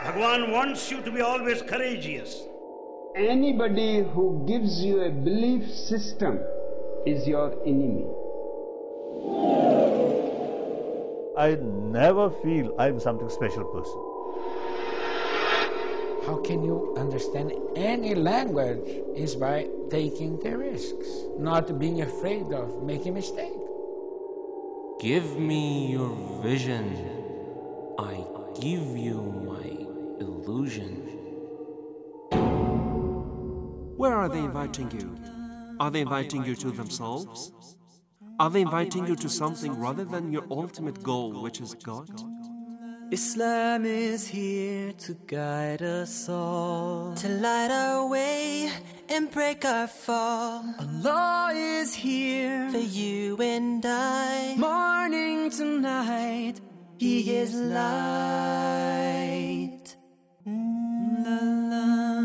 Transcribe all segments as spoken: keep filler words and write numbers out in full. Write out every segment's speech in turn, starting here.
Bhagwan wants you to be always courageous. Anybody who gives you a belief system is your enemy. I never feel I'm something special person. How can you understand any language is by taking the risks, not being afraid of making a mistake. Give me your vision. I give you my illusion. Where are they inviting you? Are they inviting you to themselves? Are they inviting you to something rather than your ultimate goal, which is God? Islam is here to guide us all, to light our way and break our fall. Allah is here for you and I, morning to night, He is light. La, la,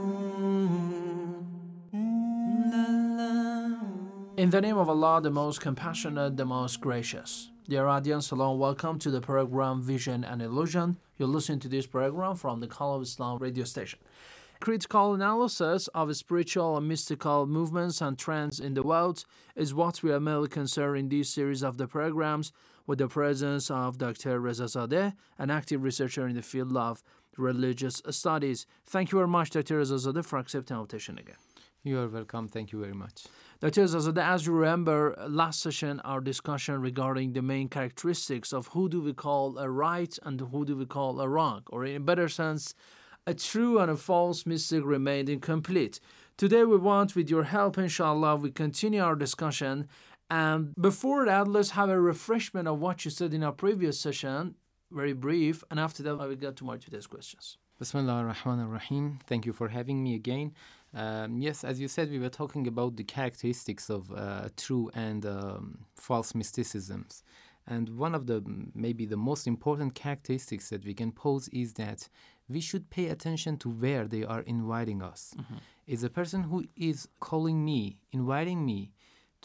la, la. In the name of Allah, the most compassionate, the most gracious. Dear audience, hello and welcome to the program Vision and Illusion. You're listening to this program from the Call of Islam radio station. Critical analysis of spiritual and mystical movements and trends in the world is what we are mainly concerned in this series of the programs, with the presence of Doctor Reza Zadeh, an active researcher in the field of religious studies. Thank you very much, Doctor Reza Zadeh, for accepting our invitation again. You are welcome. Thank you very much. Doctor Zadeh, as you remember, last session, our discussion regarding the main characteristics of who do we call a right and who do we call a wrong, or in a better sense, a true and a false mystic remained incomplete. Today we want, with your help, inshallah, we continue our discussion. And before that, let's have a refreshment of what you said in our previous session, very brief, and after that I will get to my today's questions. Bismillah ar-Rahman ar-Rahim. Thank you for having me again. Um, yes, as you said, we were talking about the characteristics of uh, true and um, false mysticisms. And one of the, maybe the most important characteristics that we can pose is that we should pay attention to where they are inviting us. Mm-hmm. Is a person who is calling me, inviting me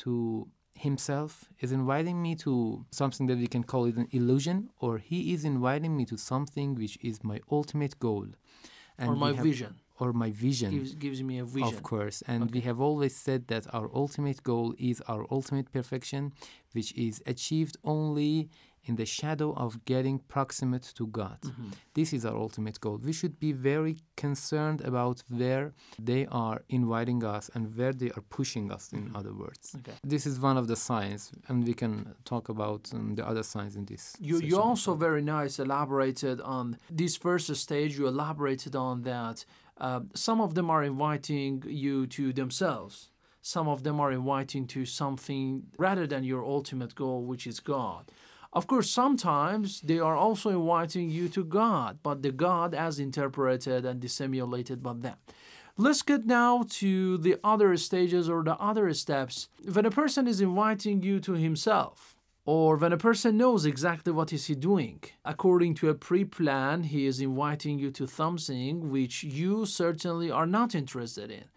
to himself, is inviting me to something that we can call it an illusion, or he is inviting me to something which is my ultimate goal. And or my have, vision. Or my vision. Gives, gives me a vision. Of course. And okay. we have always said that our ultimate goal is our ultimate perfection, which is achieved only in the shadow of getting proximate to God. Mm-hmm. This is our ultimate goal. We should be very concerned about where they are inviting us and where they are pushing us, in mm-hmm. other words. Okay. This is one of the signs, and we can talk about um, the other signs in this. You, you also very nice elaborated on this first stage. You elaborated on that. Uh, some of them are inviting you to themselves. Some of them are inviting to something rather than your ultimate goal, which is God. Of course, sometimes they are also inviting you to God, but the God as interpreted and dissimulated by them. Let's get now to the other stages or the other steps. When a person is inviting you to himself, or when a person knows exactly what is he doing, according to a pre-plan, he is inviting you to something which you certainly are not interested in.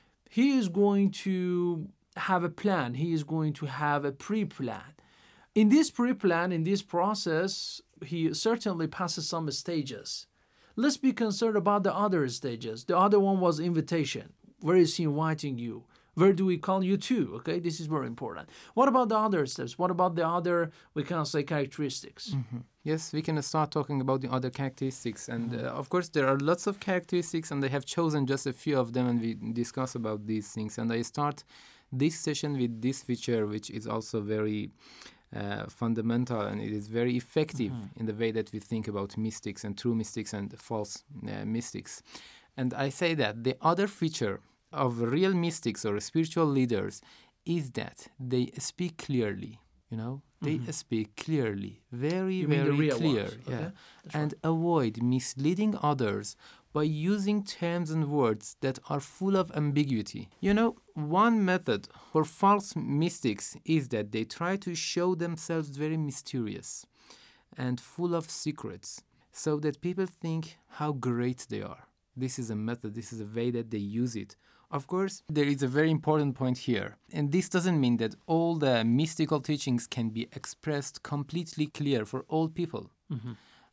He is going to have a plan. He is going to have a pre-plan. In this pre-plan, in this process, he certainly passes some stages. Let's be concerned about the other stages. The other one was invitation. Where is he inviting you? Where do we call you to? Okay, this is very important. What about the other steps? What about the other, we can say, characteristics? Mm-hmm. Yes, we can start talking about the other characteristics. And uh, of course, there are lots of characteristics, and I have chosen just a few of them, and we discuss about these things. And I start this session with this feature, which is also very uh, fundamental, and it is very effective mm-hmm. in the way that we think about mystics and true mystics and false uh, mystics. And I say that the other feature of real mystics or spiritual leaders is that they speak clearly, you know, they mm-hmm. speak clearly, very, you very mean the real clear, ones. yeah, okay. and right. avoid misleading others by using terms and words that are full of ambiguity. You know, one method for false mystics is that they try to show themselves very mysterious and full of secrets so that people think how great they are. This is a method, this is a way that they use it. Of course, there is a very important point here. And this doesn't mean that all the mystical teachings can be expressed completely clear for all people. Mm-hmm.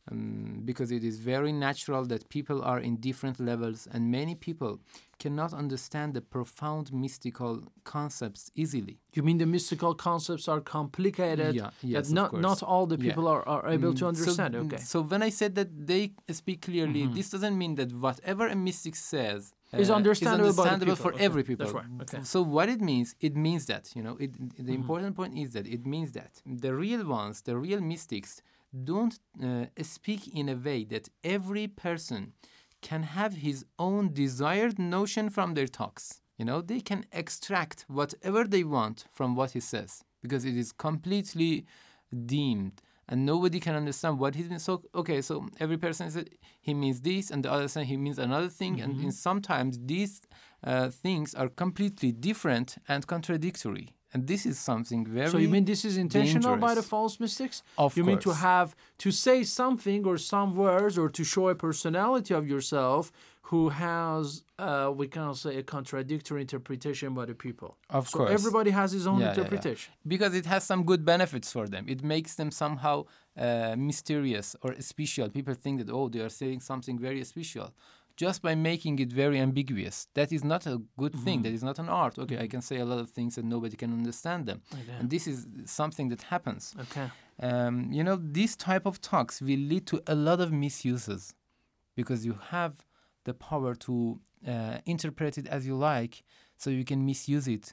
um, because it is very natural that people are in different levels, and many people cannot understand the profound mystical concepts easily. You mean the mystical concepts are complicated? Yeah, yes, that not, of course. not all the people Yeah. are, are able Mm, to understand. So, okay. So when I said that they speak clearly, Mhm. this doesn't mean that whatever a mystic says Is uh, understandable by the understandable people. for Okay, every people. that's right, okay. So what it means, it means that, you know, it, the Mhm. important point is that it means that the real ones, the real mystics, don't uh, speak in a way that every person can have his own desired notion from their talks. You know, they can extract whatever they want from what he says because it is completely deemed and nobody can understand what he means. So, okay, so every person says he means this and the other says he means another thing. Mm-hmm. And, and sometimes these uh, things are completely different and contradictory. And this is something very So you mean this is intentional by the dangerous. false mystics? Of you mean to course. have to say something or some words or to show a personality of yourself who has, uh, we can say, a contradictory interpretation by the people. Of so course. everybody has his own Yeah, yeah, yeah. interpretation. Because it has some good benefits for them. It makes them somehow uh, mysterious or special. People think that, oh, they are saying something very special. Just by making it very ambiguous. That is not a good Mm-hmm. thing. That is not an art. Okay, I can say a lot of things and nobody can understand them. Okay. And this is something that happens. Okay. Um, you know, this type of talks will lead to a lot of misuses because you have the power to uh, interpret it as you like, so you can misuse it.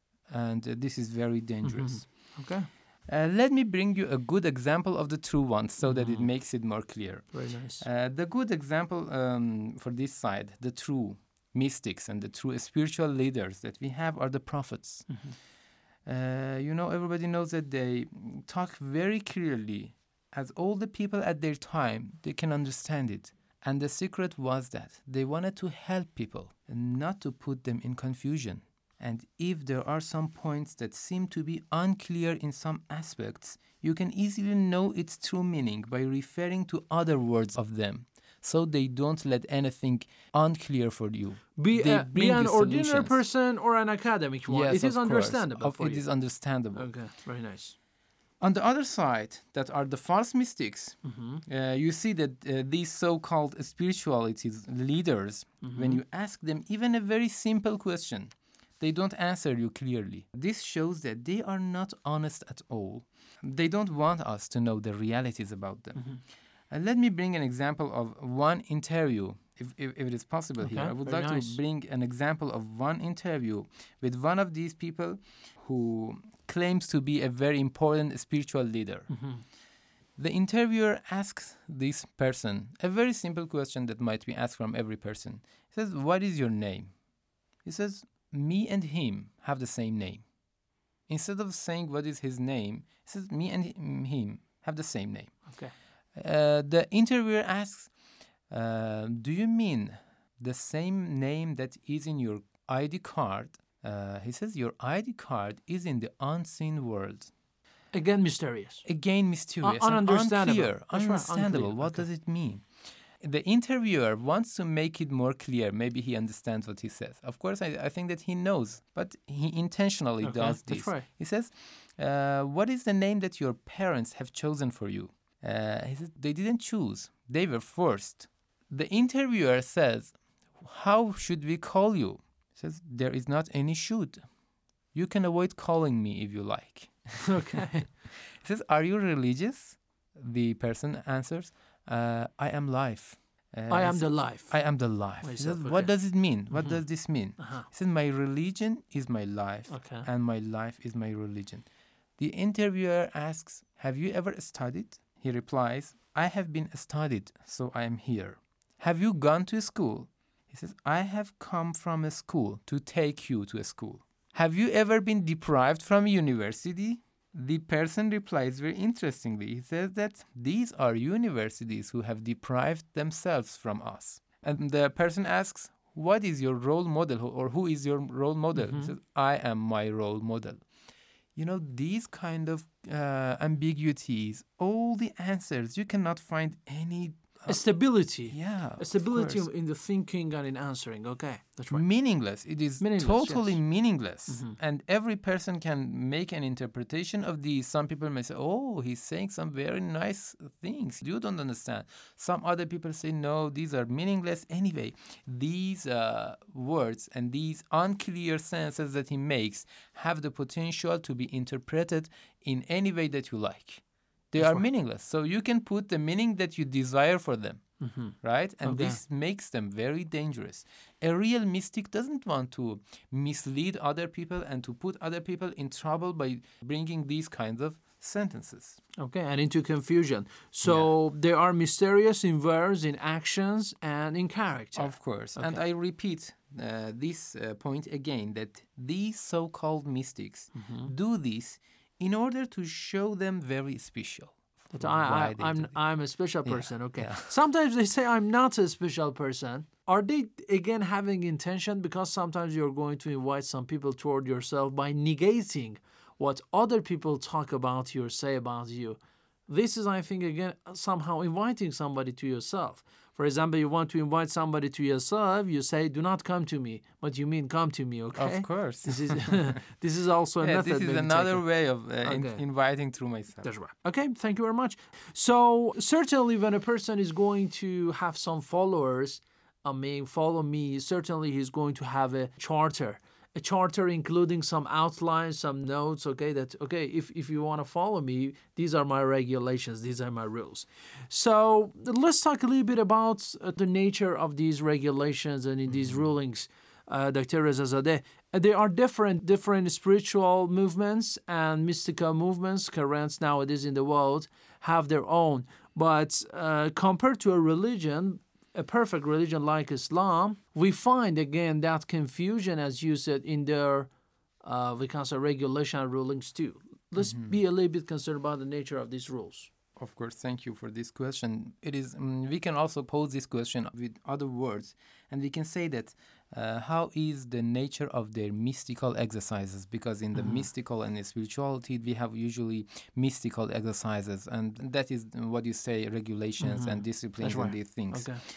And uh, this is very dangerous. Mm-hmm. Okay. Uh, let me bring you a good example of the true ones so that it makes it more clear. Very nice. Uh, the good example um, for this side, the true mystics and the true spiritual leaders that we have are the prophets. Mm-hmm. Uh, you know, everybody knows that they talk very clearly, as all the people at their time, they can understand it. And the secret was that they wanted to help people and not to put them in confusion. And if there are some points that seem to be unclear in some aspects, you can easily know its true meaning by referring to other words of them. So they don't let anything unclear for you. Be, They uh, be bring an you ordinary solutions. person or an academic one. Yes, it is of course. understandable Of- for It you. is understandable. Okay, very nice. On the other side, that are the false mystics, Mm-hmm. uh, you see that uh, these so-called spiritualities leaders, Mm-hmm. when you ask them even a very simple question, they don't answer you clearly. This shows that they are not honest at all. They don't want us to know the realities about them. Mm-hmm. And let me bring an example of one interview, if, if, if it is possible Okay, here. I would very like nice. to bring an example of one interview with one of these people who claims to be a very important spiritual leader. Mm-hmm. The interviewer asks this person a very simple question that might be asked from every person. He says, "What is your name?" He says, "Me and him have the same name." Instead of saying what is his name, he says, "Me and him have the same name." Okay. Uh, the interviewer asks, uh, "Do you mean the same name that is in your I D card?" Uh, he says, "Your I D card is in the unseen world." Again, mysterious. Again, mysterious, Un- and ununderstandable. unclear. That's right, Understandable. unclear. What Okay. does it mean? The interviewer wants to make it more clear. Maybe he understands what he says. Of course, I, I think that he knows, but he intentionally Okay, does that's this. right. He says, uh, "What is the name that your parents have chosen for you?" Uh, he says, "They didn't choose. They were forced." The interviewer says, "How should we call you?" He says, "There is not any should. You can avoid calling me if you like." Okay. He says, "Are you religious?" The person answers, uh, "I am life." Uh, I am he the says, life. I am the life. He Myself, says, okay. "What does it mean? What Mhm. does this mean?" Uh-huh. He says, "My religion is my life, Okay. and my life is my religion." The interviewer asks, "Have you ever studied?" He replies, "I have been studied, so I am here." "Have you gone to school?" He says, "I have come from a school to take you to a school." "Have you ever been deprived from university?" The person replies very interestingly. He says that these are universities who have deprived themselves from us. And the person asks, "What is your role model, or who is your role model?" Mm-hmm. He says, "I am my role model." You know, these kind of uh, ambiguities, all the answers, you cannot find any a stability. Yeah, A stability of course. in the thinking and in answering. Okay, that's right. Meaningless. It is Meaningless, totally yes. meaningless. And every person can make an interpretation of these. Some people may say, oh, he's saying some very nice things. You don't understand. Some other people say, no, these are meaningless. Anyway, these uh, words and these unclear sentences that he makes have the potential to be interpreted in any way that you like. They That's are right. meaningless. So you can put the meaning that you desire for them. Mm-hmm. Right? And Okay. this makes them very dangerous. A real mystic doesn't want to mislead other people and to put other people in trouble by bringing these kinds of sentences. Okay, and into confusion. So they are mysterious in words, in actions, and in character. Of course. And I repeat uh, this uh, point again, that these so-called mystics Mm-hmm. do this in order to show them very special. That Why I, they I, I'm do this. I'm a special Yeah, person. Okay. yeah. Sometimes they say I'm not a special person. Are they again having intention? Because sometimes you're going to invite some people toward yourself by negating what other people talk about you or say about you. This is, I think, again somehow inviting somebody to yourself. For example, you want to invite somebody to yourself. You say, "Do not come to me," but you mean come to me. Okay. Of course. This is this is also a Yeah, method. this is maybe another taken. way of uh, in- Okay. inviting through myself. That's right. Okay, thank you very much. So certainly when a person is going to have some followers, I mean, follow me, certainly he's going to have a charter. A charter including some outlines, some notes, okay, that, okay, if, if you want to follow me, these are my regulations, these are my rules. So let's talk a little bit about uh, the nature of these regulations and in these rulings, uh, Doctor Reza Zadeh. Uh, There are different different spiritual movements and mystical movements, currents nowadays in the world, have their own. But uh, compared to a religion, a perfect religion like Islam, we find again that confusion, as you said, in their uh, we can say regulation and rulings too. Let's be a little bit concerned about the nature of these rules. Of course, thank you for this question. It is um, we can also pose this question with other words, and we can say that uh, how is the nature of their mystical exercises? Because in the mystical and the spirituality, we have usually mystical exercises, and that is what you say, regulations and disciplines That's and right. these things. Okay.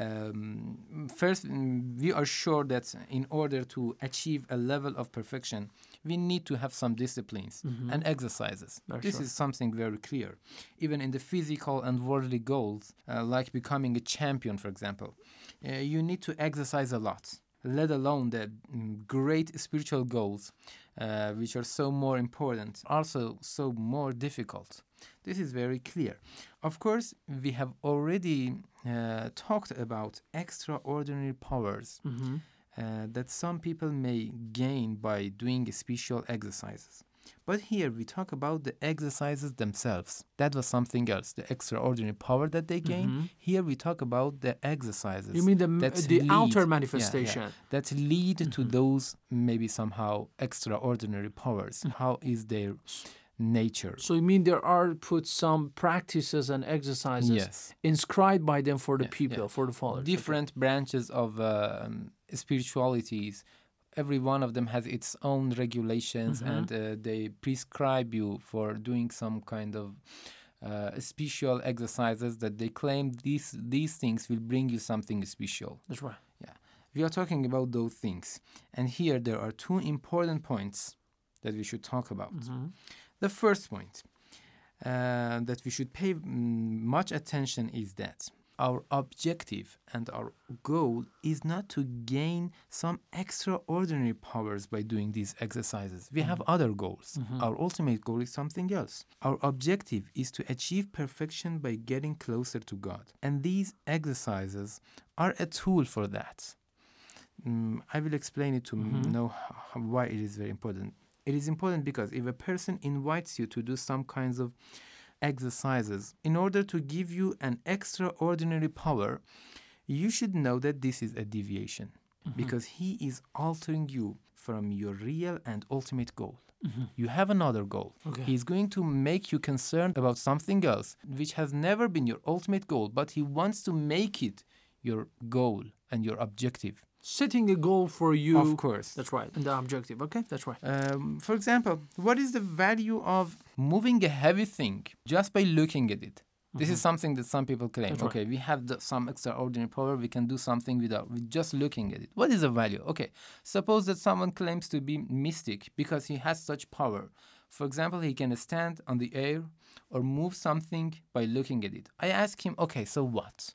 Um, first, mm, we are sure that in order to achieve a level of perfection, we need to have some disciplines and exercises. That's this right. is something very clear. Even in the physical and worldly goals, uh, like becoming a champion, for example, uh, you need to exercise a lot, let alone the mm, great spiritual goals, uh, which are so more important, also so more difficult. This is very clear. Of course, we have already uh, talked about extraordinary powers uh, that some people may gain by doing special exercises. But here we talk about the exercises themselves. That was something else, the extraordinary power that they gain. Here we talk about the exercises. You mean the, that the lead- outer yeah, manifestation? yeah, that lead to those maybe somehow extraordinary powers. How is their nature? So you mean there are put some practices and exercises Yes. inscribed by them for the Yeah, people, yeah. for the followers? Different branches of um, spiritualities. Every one of them has its own regulations, and uh, they prescribe you for doing some kind of uh, special exercises that they claim these these things will bring you something special. That's right. Yeah, we are talking about those things, and here there are two important points that we should talk about. The first point uh, that we should pay mm, much attention is that our objective and our goal is not to gain some extraordinary powers by doing these exercises. We have other goals. Our ultimate goal is something else. Our objective is to achieve perfection by getting closer to God. And these exercises are a tool for that. Mm, I will explain it to know how, why it is very important. It is important because if a person invites you to do some kinds of exercises in order to give you an extraordinary power, you should know that this is a deviation because he is altering you from your real and ultimate goal. You have another goal. Okay. He's going to make you concerned about something else which has never been your ultimate goal, but he wants to make it your goal and your objective. Setting a goal for you. Of course. That's right. And the objective. Okay, that's right. Um, for example, what is the value of moving a heavy thing just by looking at it? This is something that some people claim. That's right. Okay, we have the, some extraordinary power. We can do something without with just looking at it. What is the value? Okay, suppose that someone claims to be mystic because he has such power. For example, he can stand on the air or move something by looking at it. I ask him, okay, so what?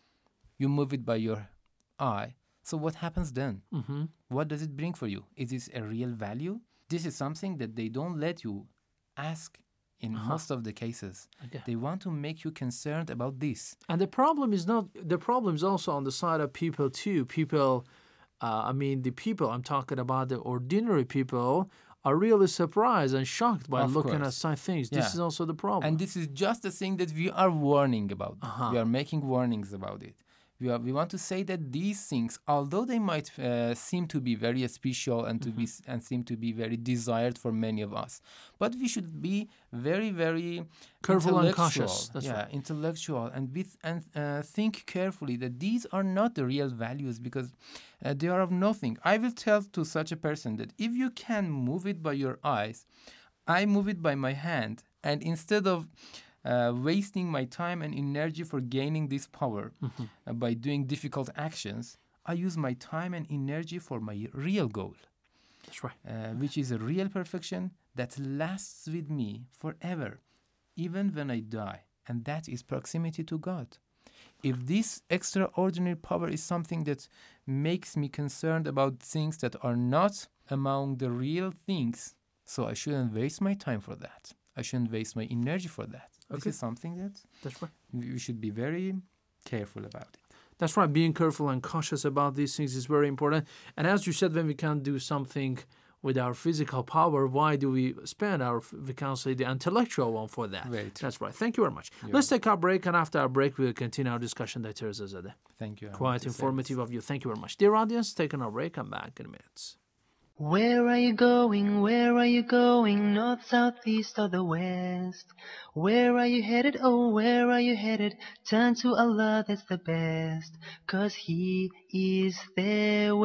You move it by your eye. So what happens then? Mm-hmm. What does it bring for you? Is this a real value? This is something that they don't let you ask in Uh-huh. most of the cases. Okay. They want to make you concerned about this. And the problem is not, the problem is also on the side of people too. People, uh, I mean, the people, I'm talking about the ordinary people, are really surprised and shocked by Of looking course. at such things. Yeah. This is also the problem. And this is just the thing that we are warning about. Uh-huh. We are making warnings about it. We, are, we want to say that these things, although they might uh, seem to be very special and to Mm-hmm. be and seem to be very desired for many of us, but we should be very, very Careful and intellectual. cautious. That's yeah, right. intellectual, and with and uh, think carefully that these are not the real values because uh, they are of nothing. I will tell to such a person that if you can move it by your eyes, I move it by my hand, and instead of Uh, wasting my time and energy for gaining this power Mm-hmm. uh, by doing difficult actions, I use my time and energy for my real goal, That's right. uh, which is a real perfection that lasts with me forever, even when I die, and that is proximity to God. If this extraordinary power is something that makes me concerned about things that are not among the real things, so I shouldn't waste my time for that. I shouldn't waste my energy for that. Okay. This is something that That's right. we should be very careful about it. That's right. Being careful and cautious about these things is very important. And as you said, when we can't do something with our physical power, why do we spend our, we can say, the intellectual one for that? Very true. That's right. Thank you very much. You're Let's take our break, and after our break, we'll continue our discussion. That is Thank you. I want quite to say informative this. of you. Thank you very much. Dear audience, taking our break. I'm back in a minute. Where are you going? Where are you going? North, south, east, or the west? Where are you headed? Oh, where are you headed? Turn to Allah, that's the best. 'Cause He is there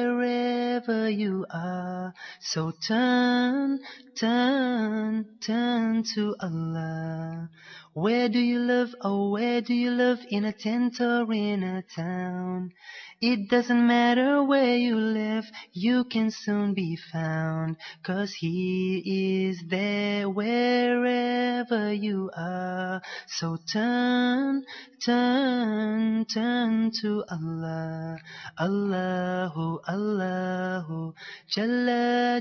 wherever you are. So turn, turn, turn to Allah. Where do you live? Oh, where do you live? In a tent or in a town? It doesn't matter where you live, you can soon be found, 'cause He is there wherever you are. So turn, turn, turn to Allah. Allahu, Allahu, Jalla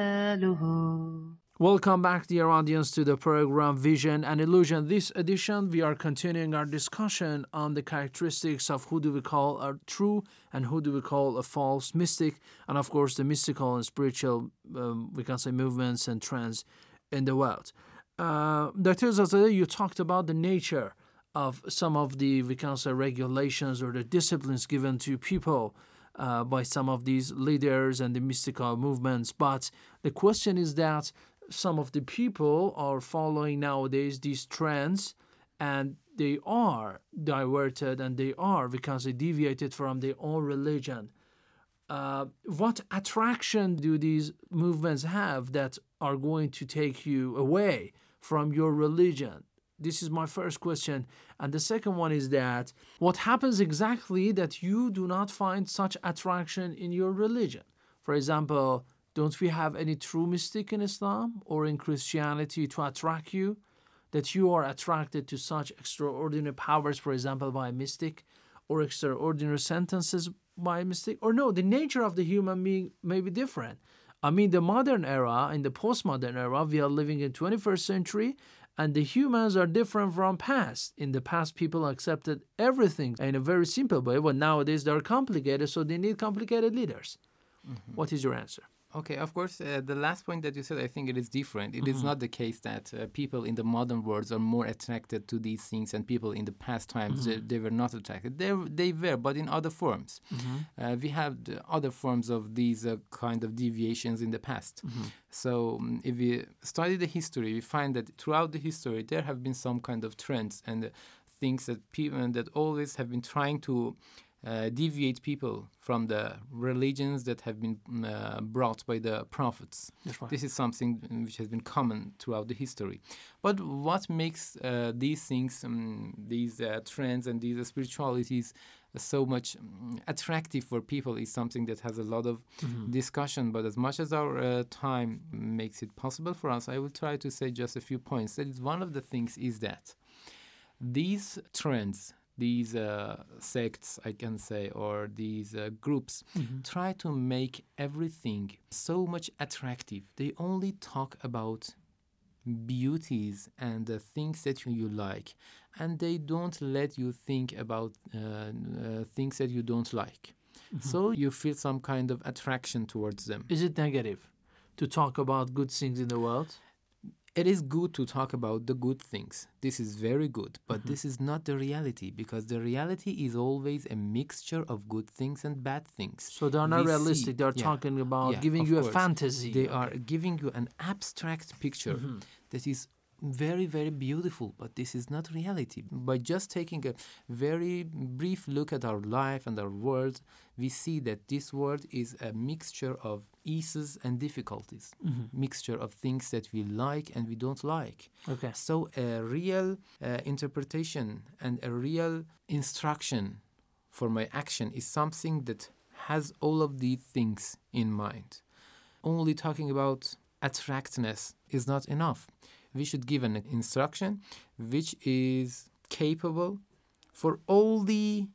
Jalaluhu. Welcome back, dear audience, to the program Vision and Illusion. This edition, we are continuing our discussion on the characteristics of who do we call a true and who do we call a false mystic, and of course the mystical and spiritual, um, we can say, movements and trends in the world. Uh, Doctor Zazadeh, you talked about the nature of some of the, we can say, regulations or the disciplines given to people uh, by some of these leaders and the mystical movements. But the question is that some of the people are following nowadays these trends, and they are diverted and they are, we can say, deviated from their own religion. Uh, what attraction do these movements have that are going to take you away from your religion? This is my first question. And the second one is that what happens exactly that you do not find such attraction in your religion? For example, don't we have any true mystic in Islam or in Christianity to attract you? That you are attracted to such extraordinary powers, for example, by a mystic, or extraordinary sentences by a mystic? Or no, the nature of the human being may be different. I mean, the modern era, in the postmodern era, we are living in twenty-first century, and the humans are different from past. In the past, people accepted everything in a very simple way, but nowadays they are complicated, so they need complicated leaders. Mm-hmm. What is your answer? Okay, of course, uh, the last point that you said, I think it is different. It Mm-hmm. is not the case that uh, people in the modern world are more attracted to these things, and people in the past times, Mm-hmm. they, they were not attracted. They, they were, but in other forms. Mm-hmm. Uh, we have the other forms of these uh, kind of deviations in the past. Mm-hmm. So um, if we study the history, we find that throughout the history, there have been some kind of trends and uh, things that people that always have been trying to uh, deviate people from the religions that have been uh, brought by the prophets. That's right. This is something which has been common throughout the history. But what makes uh, these things, um, these uh, trends and these spiritualities so much um, attractive for people is something that has a lot of mm-hmm. discussion. But as much as our uh, time makes it possible for us, I will try to say just a few points. That is, one of the things is that these trends, these uh, sects, I can say, or these uh, groups, mm-hmm. try to make everything so much attractive. They only talk about beauties and the things that you, you like, and they don't let you think about uh, uh, things that you don't like. Mm-hmm. So you feel some kind of attraction towards them. Is it negative to talk about good things in the world? It is good to talk about the good things. This is very good, but mm-hmm. this is not the reality, because the reality is always a mixture of good things and bad things. So they are not we realistic. See, they are yeah, talking about yeah, giving you course. a fantasy. They okay. are giving you an abstract picture mm-hmm. that is very, very beautiful, but this is not reality. By just taking a very brief look at our life and our world, we see that this world is a mixture of eases and difficulties, mm-hmm. mixture of things that we like and we don't like. Okay. So a real uh, interpretation and a real instruction for my action is something that has all of these things in mind. Only talking about attractiveness is not enough. We should give an instruction which is capable for all the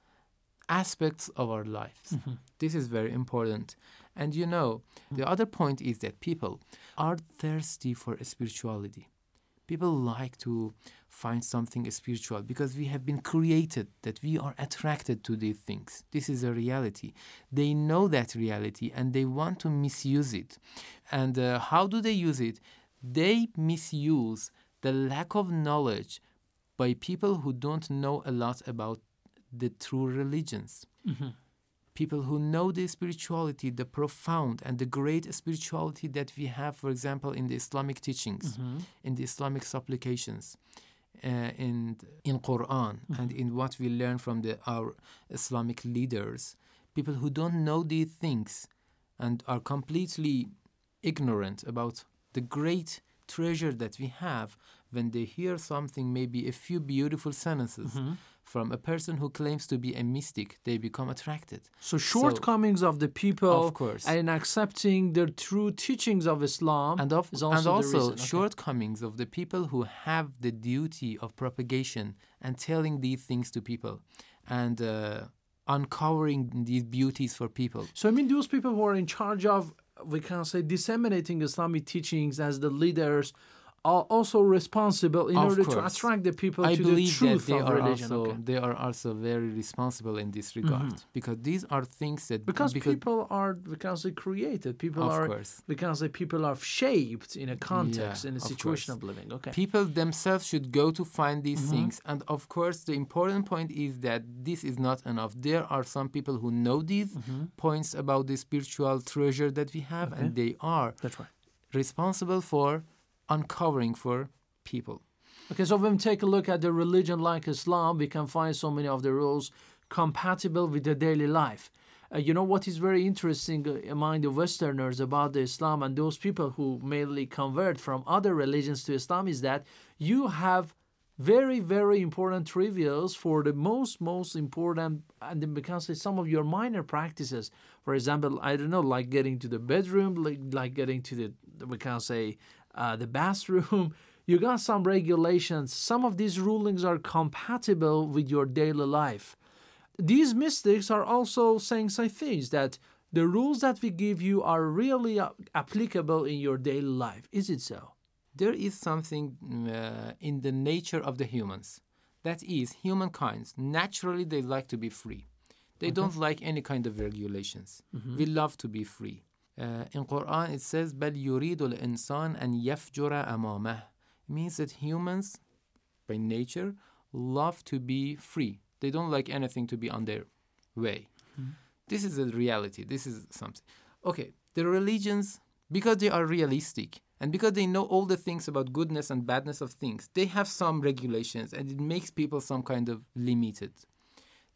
aspects of our lives. Mm-hmm. This is very important. And you know, the other point is that people are thirsty for spirituality. People like to find something spiritual because we have been created that we are attracted to these things. This is a reality. They know that reality and they want to misuse it. And uh, how do they use it? They misuse the lack of knowledge by people who don't know a lot about the true religions. Mm-hmm. People who know the spirituality, the profound and the great spirituality that we have, for example, in the Islamic teachings, mm-hmm. in the Islamic supplications, uh, in in Quran, mm-hmm. and in what we learn from the, our Islamic leaders. People who don't know these things and are completely ignorant about the great treasure that we have, when they hear something, maybe a few beautiful sentences mm-hmm. from a person who claims to be a mystic, they become attracted. So shortcomings so, of the people of course. and accepting the true teachings of Islam and of, is also, and also the reason. Okay. shortcomings of the people who have the duty of propagation and telling these things to people and uh, uncovering these beauties for people. So I mean those people who are in charge of, we can say, disseminating Islamic teachings as the leaders are also responsible in of order course. to attract the people I to the truth that they of are religion. Also, okay. They are also very responsible in this regard mm-hmm. because these are things that... Because, because people are, we can say, created. People of are, course. we can say, people are shaped in a context, yeah, in a of situation course. of living. Okay. People themselves should go to find these mm-hmm. things. And of course, the important point is that this is not enough. There are some people who know these mm-hmm. points about the spiritual treasure that we have, okay. and they are That's right. responsible for uncovering for people. Okay, so when we take a look at the religion like Islam, we can find so many of the rules compatible with the daily life. Uh, you know what is very interesting uh, among the Westerners about the Islam and those people who mainly convert from other religions to Islam is that you have very, very important trivials for the most, most important, and then we can say some of your minor practices. For example, I don't know, like getting to the bedroom, like, like getting to the, we can say, uh, the bathroom. You got some regulations. Some of these rulings are compatible with your daily life. These mystics are also saying some things that the rules that we give you are really uh, applicable in your daily life. Is it so? There is something uh, in the nature of the humans. That is, humankind, naturally they like to be free. They okay. don't like any kind of regulations. Mm-hmm. We love to be free. Uh, in Quran it says, بَلْ يُرِيدُ الْإِنسَانَ أَنْ يَفْجُرَ أَمَامَهُ. It means that humans, by nature, love to be free. They don't like anything to be on their way. Mm-hmm. This is a reality. This is something. Okay, the religions, because they are realistic, and because they know all the things about goodness and badness of things, they have some regulations, and it makes people some kind of limited.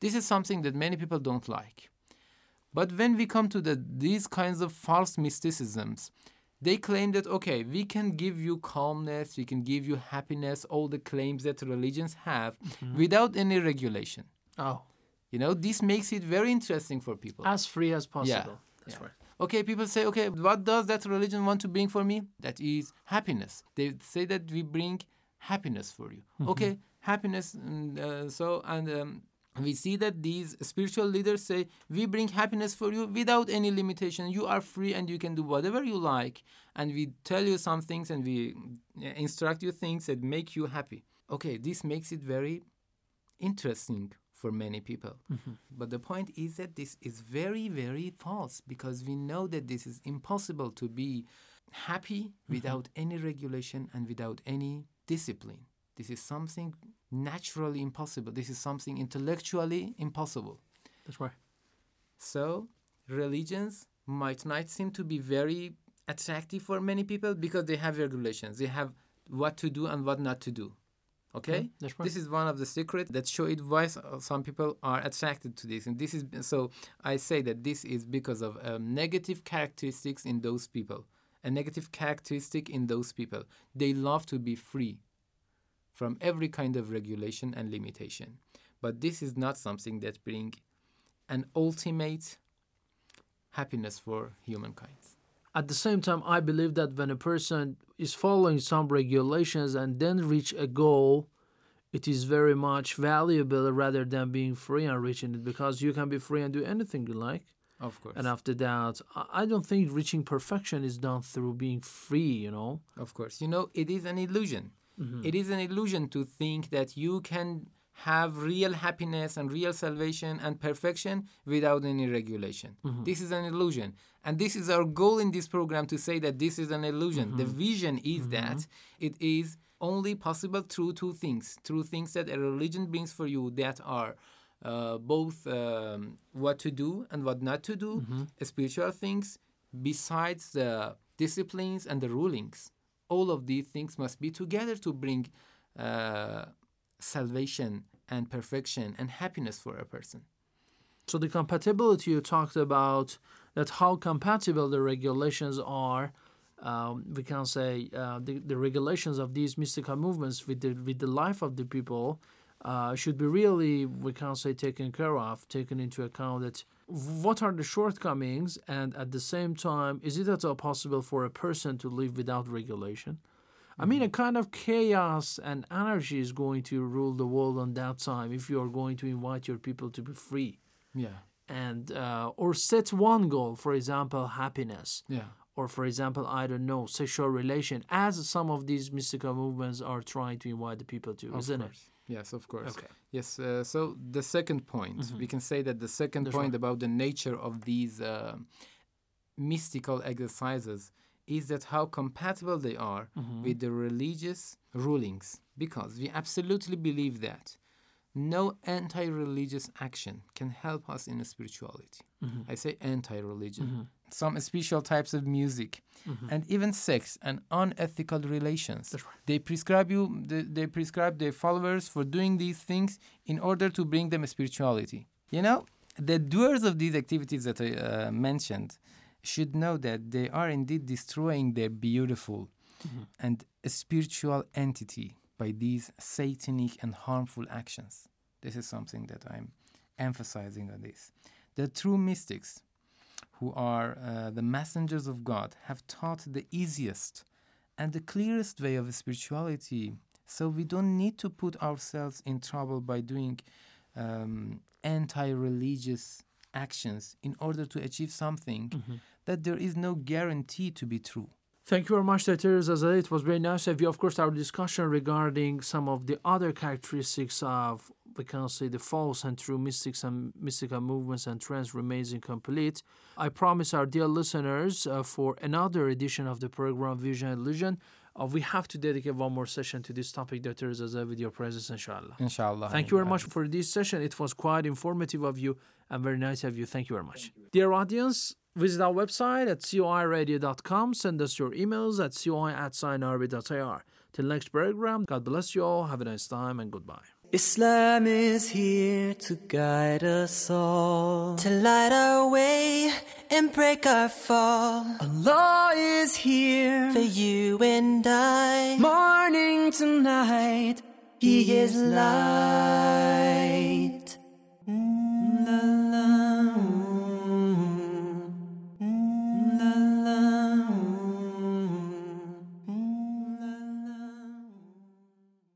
This is something that many people don't like. But when we come to the, these kinds of false mysticisms, they claim that, okay, we can give you calmness, we can give you happiness, all the claims that religions have, mm-hmm. without any regulation. Oh. You know, this makes it very interesting for people. As free as possible. Yeah. That's yeah. right. Okay, people say, okay, what does that religion want to bring for me? That is happiness. They say that we bring happiness for you. Mm-hmm. Okay, happiness. And, uh, so, and um, we see that these spiritual leaders say, we bring happiness for you without any limitation. You are free and you can do whatever you like. And we tell you some things and we instruct you things that make you happy. Okay, this makes it very interesting for many people. Mm-hmm. But the point is that this is very, very false, because we know that this is impossible to be happy mm-hmm. without any regulation and without any discipline. This is something naturally impossible. This is something intellectually impossible. That's right. So religions might not seem to be very attractive for many people because they have regulations. They have what to do and what not to do. Okay? Mm, that's right. This is one of the secrets that show it why some people are attracted to this. And this is so I say that this is because of um, negative characteristics in those people. A negative characteristic in those people. They love to be free from every kind of regulation and limitation. But this is not something that brings an ultimate happiness for humankind. At the same time, I believe that when a person is following some regulations and then reach a goal, it is very much valuable rather than being free and reaching it, because you can be free and do anything you like. Of course. And after that, I don't think reaching perfection is done through being free, you know. Of course. You know, it is an illusion. Mm-hmm. It is an illusion to think that you can have real happiness and real salvation and perfection without any regulation. Mm-hmm. This is an illusion. And this is our goal in this program, to say that this is an illusion. Mm-hmm. The vision is mm-hmm. that it is only possible through two things. Through things that a religion brings for you that are uh, both um, what to do and what not to do, mm-hmm. spiritual things, besides the disciplines and the rulings. All of these things must be together to bring uh, salvation and perfection and happiness for a person. So the compatibility you talked about, that how compatible the regulations are, um, we can say uh, the, the regulations of these mystical movements with the with the life of the people uh, should be really, we can say, taken care of, taken into account. That what are the shortcomings, and at the same time, is it at all possible for a person to live without regulation? I mean, a kind of chaos and anarchy is going to rule the world on that time if you are going to invite your people to be free. Yeah. And uh, or set one goal, for example, happiness. Yeah. Or, for example, I don't know, sexual relation, as some of these mystical movements are trying to invite the people to, of isn't course. it? Yes, of course. Okay. Yes, uh, so the second point, mm-hmm. we can say that the second That's point right. about the nature of these uh, mystical exercises is that how compatible they are mm-hmm. with the religious rulings. Because we absolutely believe that no anti-religious action can help us in spirituality. Mm-hmm. I say anti-religion. Mm-hmm. Some special types of music mm-hmm. and even sex and unethical relations. Right. They prescribe you. They, they prescribe their followers for doing these things in order to bring them spirituality. You know, the doers of these activities that I uh, mentioned should know that they are indeed destroying their beautiful mm-hmm. and spiritual entity by these satanic and harmful actions. This is something that I'm emphasizing on this. The true mystics, who are uh, the messengers of God, have taught the easiest and the clearest way of spirituality. So we don't need to put ourselves in trouble by doing um, anti-religious actions in order to achieve something mm-hmm. that there is no guarantee to be true. Thank you very much, Doctor Azadeh. It was very nice of you. Of course, our discussion regarding some of the other characteristics of, we can say, the false and true mystics and mystical movements and trends remains incomplete. I promise our dear listeners uh, for another edition of the program Vision and Illusion, uh, we have to dedicate one more session to this topic, Doctor Azadeh, with your presence, inshallah. Inshallah. Thank you very much for this session. It was quite informative of you and very nice of you. Thank you very much. You. Dear audience, visit our website at c o i radio dot com. Send us your emails at c o i at sign arabic dot i r. Till next program, God bless you all. Have a nice time and goodbye. Islam is here to guide us all, to light our way and break our fall. Allah is here for you and I, morning to night, He is light. La